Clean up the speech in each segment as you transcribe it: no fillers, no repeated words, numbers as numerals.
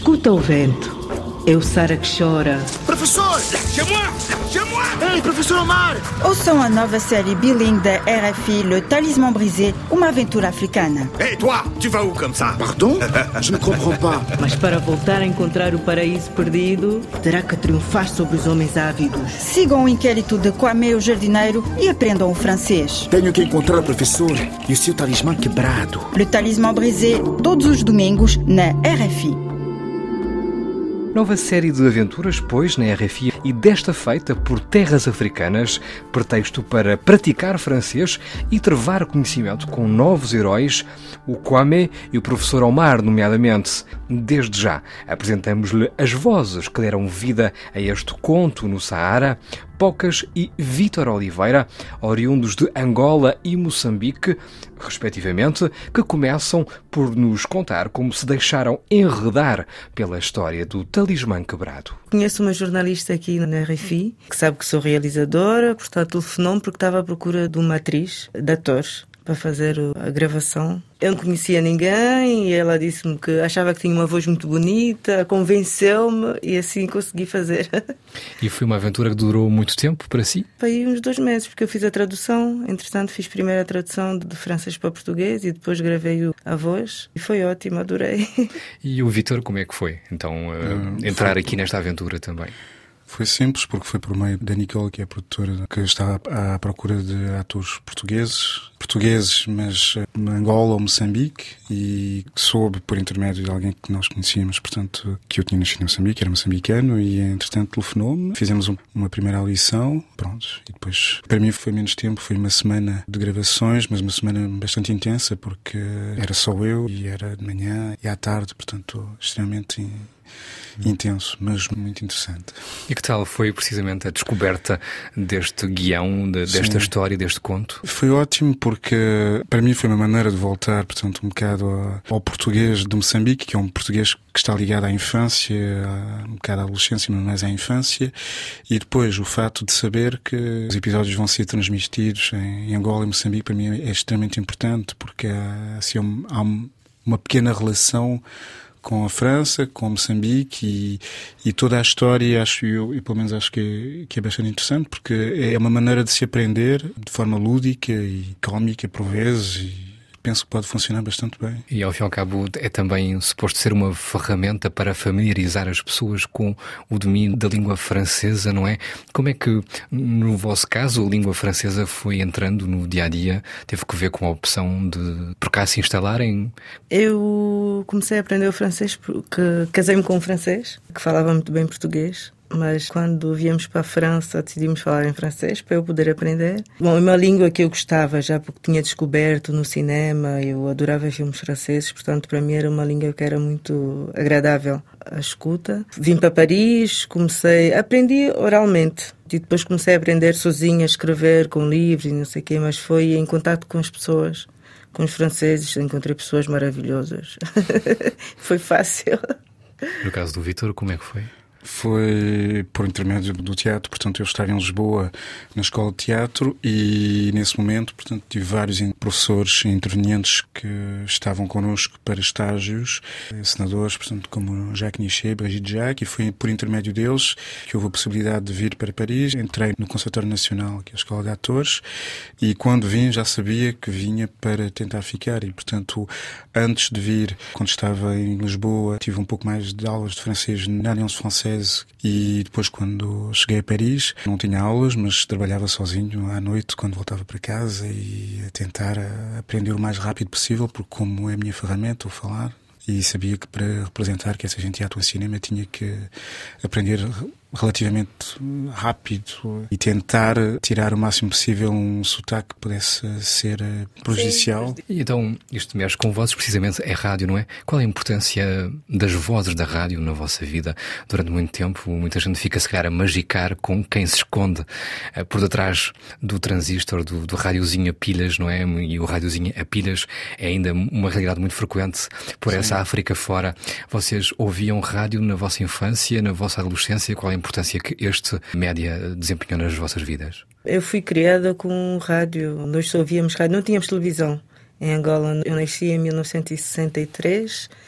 Escuta o vento. É o Sara que chora. Professor! Ei, professor Omar! Ouçam a nova série bilingue da RFI, Le Talisman Brisé, uma aventura africana. Hey, toi! Tu vas où comme ça? Pardon? Je ne comprends pas. Mas para voltar a encontrar o paraíso perdido, terá que triunfar sobre os homens ávidos. Sigam o inquérito de Kwame, o jardineiro, e aprendam o francês. Tenho que encontrar o professor e o seu talismã quebrado. Le Talisman Brisé, todos os domingos, na RFI. Nova série de aventuras, pois, na RFI, e desta feita por terras africanas, pretexto para praticar francês e travar conhecimento com novos heróis, o Kwame e o professor Omar, nomeadamente. Desde já, apresentamos-lhe as vozes que deram vida a este conto no Saara, Pocas e Vítor Oliveira, oriundos de Angola e Moçambique, respectivamente, que começam por nos contar como se deixaram enredar pela história do talismã quebrado. Conheço uma jornalista aqui na RFI, que sabe que sou realizadora, portanto telefonou-me porque estava à procura de uma atriz, de atores, para fazer a gravação. Eu não conhecia ninguém e ela disse-me que achava que tinha uma voz muito bonita, convenceu-me e assim consegui fazer. E foi uma aventura que durou muito tempo para si? Foi uns 2 meses, porque eu fiz a tradução. Entretanto, fiz primeiro a tradução de francês para português e depois gravei a voz. E foi ótimo, adorei. E o Vítor, como é que foi? Então, entrar aqui nesta aventura também? Foi simples, porque foi por meio da Nicole, que é a produtora, que está à procura de atores portugueses, mas em Angola ou Moçambique, e soube por intermédio de alguém que nós conhecíamos, portanto, que eu tinha nascido em Moçambique, era moçambicano, e entretanto telefonou-me, fizemos uma primeira audição, pronto, e depois, para mim foi menos tempo, foi uma semana de gravações, mas uma semana bastante intensa, porque era só eu, e era de manhã e à tarde, portanto, extremamente intenso, mas muito interessante. E que tal foi precisamente a descoberta deste guião, desta história, deste conto? Foi ótimo porque para mim foi uma maneira de voltar, portanto, um bocado ao português de Moçambique, que é um português que está ligado à infância, um bocado à adolescência, mas mais à infância, e depois o fato de saber que os episódios vão ser transmitidos em Angola e Moçambique, para mim é extremamente importante, porque há uma pequena relação com a França, com Moçambique e toda a história, acho eu, e pelo menos acho que é bastante interessante, porque é uma maneira de se aprender de forma lúdica e cómica por vezes, e penso que pode funcionar bastante bem. E ao fim e ao cabo é também suposto ser uma ferramenta para familiarizar as pessoas com o domínio da língua francesa, não é? Como é que, no vosso caso, a língua francesa foi entrando no dia-a-dia? Teve que ver com a opção de por cá se instalarem? Eu comecei a aprender o francês porque casei-me com um francês que falava muito bem português. Mas quando viemos para a França decidimos falar em francês para eu poder aprender. Bom, é uma língua que eu gostava já porque tinha descoberto no cinema, eu adorava filmes franceses, portanto para mim era uma língua que era muito agradável à escuta. Vim para Paris, aprendi oralmente e depois comecei a aprender sozinha, a escrever com livros e não sei o quê, mas foi em contato com as pessoas, com os franceses, encontrei pessoas maravilhosas. Foi fácil. No caso do Vítor, como é que foi? Foi por intermédio do teatro, portanto eu estava em Lisboa na escola de teatro e nesse momento, portanto, tive vários professores intervenientes que estavam connosco para estágios, encenadores, portanto, como Jacques Nichet, Brigitte Jacques, e foi por intermédio deles que houve a possibilidade de vir para Paris. Entrei no Conservatório Nacional, que é a Escola de Atores, e quando vim já sabia que vinha para tentar ficar e, portanto, antes de vir, quando estava em Lisboa, tive um pouco mais de aulas de francês na Alliance Française. E depois, quando cheguei a Paris, não tinha aulas, mas trabalhava sozinho à noite quando voltava para casa e a tentar aprender o mais rápido possível, porque como é a minha ferramenta, o falar, e sabia que para representar que essa gente atua em cinema tinha que aprender relativamente rápido e tentar tirar o máximo possível um sotaque que pudesse ser prejudicial. E então, isto mexe com vozes, precisamente é rádio, não é? Qual é a importância das vozes da rádio na vossa vida? Durante muito tempo, muita gente fica se calhar a magicar com quem se esconde por detrás do transistor, do rádiozinho a pilhas, não é? E o rádiozinho a pilhas é ainda uma realidade muito frequente por essa África fora. Vocês ouviam rádio na vossa infância, na vossa adolescência? Qual é a importância que este média desempenhou nas vossas vidas? Eu fui criada com rádio. Nós só ouvíamos rádio, não tínhamos televisão em Angola. Eu nasci em 1963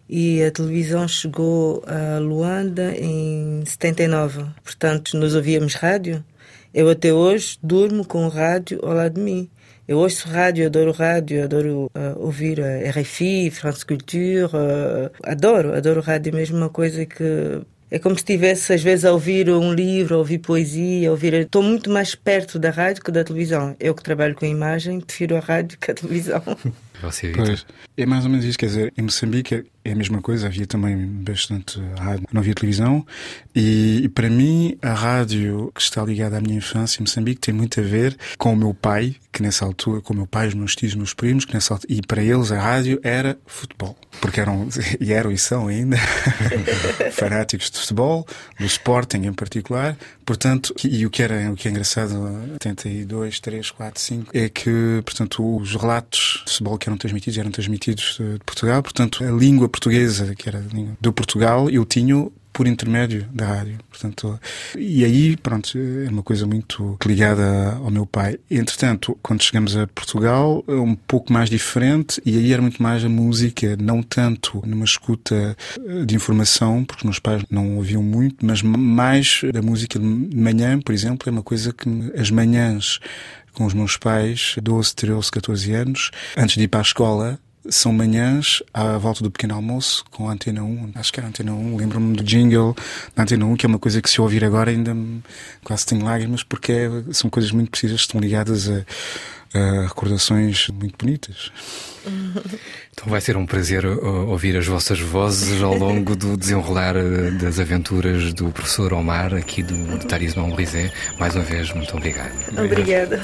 e a televisão chegou a Luanda em 79. Portanto, nós ouvíamos rádio. Eu até hoje durmo com o rádio ao lado de mim. Eu ouço rádio, adoro ouvir a RFI, France Culture, adoro rádio, mesmo uma coisa que... É como se estivesse, às vezes, a ouvir um livro, a ouvir poesia, Estou muito mais perto da rádio que da televisão. Eu que trabalho com a imagem, prefiro a rádio que a televisão. Pois, é mais ou menos isso, quer dizer, em Moçambique é a mesma coisa, havia também bastante rádio, não havia televisão, e para mim a rádio que está ligada à minha infância em Moçambique tem muito a ver com o meu pai, que nessa altura, com o meu pai, os meus tios, os meus primos, que nessa altura, e para eles a rádio era futebol, porque eram e são ainda fanáticos de futebol, do Sporting em particular, portanto, e o que é engraçado, 82, 3, 4, 5, é que, portanto, os relatos de futebol que eram transmitidos de Portugal, portanto, a língua portuguesa, que era a língua do Portugal, eu tinha por intermédio da rádio, portanto, e aí, pronto, é uma coisa muito ligada ao meu pai. Entretanto, quando chegamos a Portugal, é um pouco mais diferente, e aí era muito mais a música, não tanto numa escuta de informação, porque meus pais não ouviam muito, mas mais da música de manhã, por exemplo, é uma coisa que as manhãs com os meus pais, 12, 13, 14 anos, antes de ir para a escola, são manhãs à volta do pequeno almoço com a Antena 1, acho que era a Antena 1, lembro-me do jingle da Antena 1, que é uma coisa que se eu ouvir agora ainda quase tenho lágrimas, porque são coisas muito precisas, estão ligadas a recordações muito bonitas. Então vai ser um prazer ouvir as vossas vozes ao longo do desenrolar das aventuras do professor Omar, aqui do Talismã Brisé. Mais uma vez, muito obrigado. Obrigada.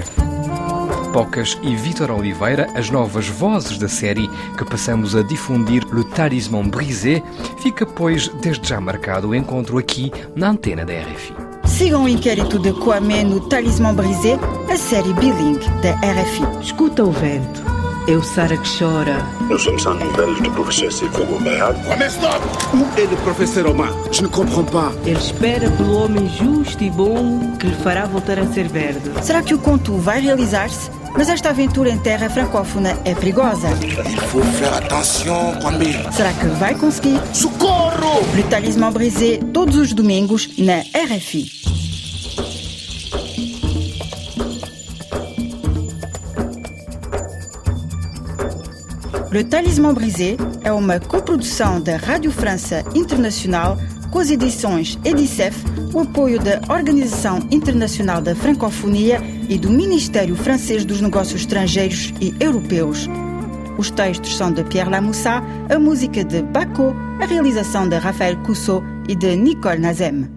Pocas e Vítor Oliveira, as novas vozes da série que passamos a difundir, Le Talismã Brisé, fica, pois, desde já marcado o encontro aqui na antena da RFI. Sigam o inquérito de Kwame no Talismã Brisé, a série bilingue da RFI. Escuta o vento. É o Sara que chora. Nous sommes sans nouvelles du professeur Sekou Omar. Mais stop! Où est le professeur Omar? Je ne comprends pas. Ele espera pelo homem justo e bom que lhe fará voltar a ser verde. Será que o conto vai realizar-se? Mas esta aventura em terra francófona é perigosa. Il faut faire attention, Kwame. Será que vai conseguir? Socorro! Le Talismã Brisé, todos os domingos, na RFI. Le Talismã Brisé é uma coprodução da Rádio França Internacional com as edições Edicef, o apoio da Organização Internacional da Francofonia e do Ministério Francês dos Negócios Estrangeiros e Europeus. Os textos são de Pierre Lamoussa, a música de Bacco, a realização de Raphaël Cousso e de Nicole Nazem.